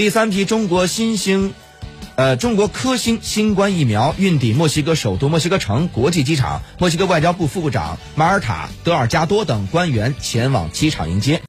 第3批中国科兴新冠疫苗运抵墨西哥首都墨西哥城国际机场，墨西哥外交部副部长马尔塔·德尔加多等官员前往机场迎接。